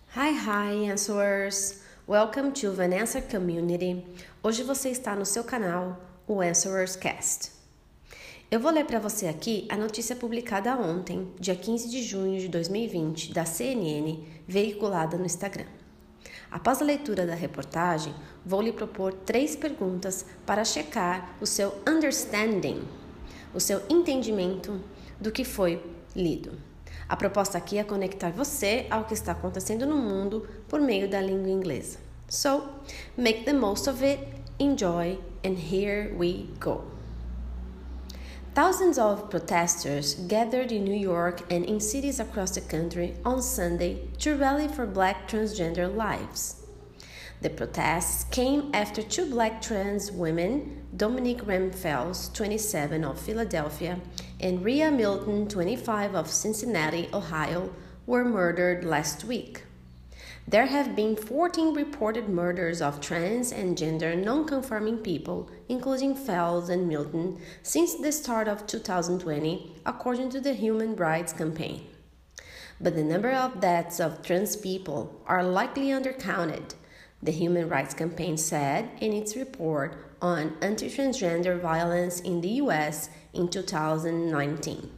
Hi, Answerers! Welcome to the Answer Community. Hoje você está no seu canal, o Answerers Cast. Eu vou ler para você aqui a notícia publicada ontem, dia 15 de junho de 2020, da CNN, veiculada no Instagram. Após a leitura da reportagem, vou lhe propor 3 perguntas para checar o seu understanding, o seu entendimento do que foi lido. A proposta aqui é conectar você ao que está acontecendo no mundo por meio da língua inglesa. So, make the most of it, enjoy, and here we go. Thousands of protesters gathered in New York and in cities across the country on Sunday to rally for Black transgender lives. The protests came after 2 Black trans women, Dominique Ramphels, 27, of Philadelphia, and Rhea Milton, 25, of Cincinnati, Ohio, were murdered last week. There have been 14 reported murders of trans and gender non-conforming people, including Fels and Milton, since the start of 2020, according to the Human Rights Campaign. But the number of deaths of trans people are likely undercounted, the Human Rights Campaign said in its report on anti-transgender violence in the U.S. in 2019.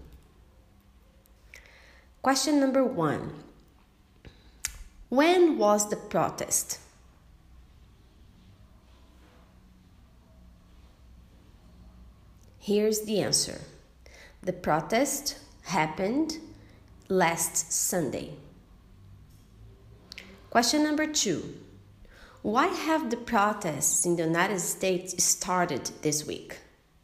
Question number 1. When was the protest? Here's the answer. The protest happened last Sunday. Question number 2. Why have the protests in the United States started this week?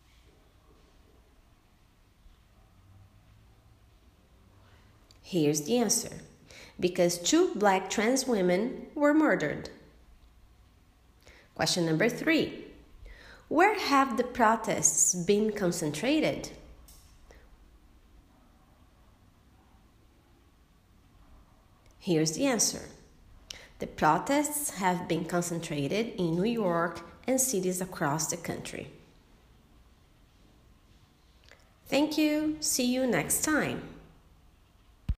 Here's the answer. Because 2 Black trans women were murdered. Question number 3. Where have the protests been concentrated? Here's the answer. The protests have been concentrated in New York and cities across the country. Thank you. See you next time.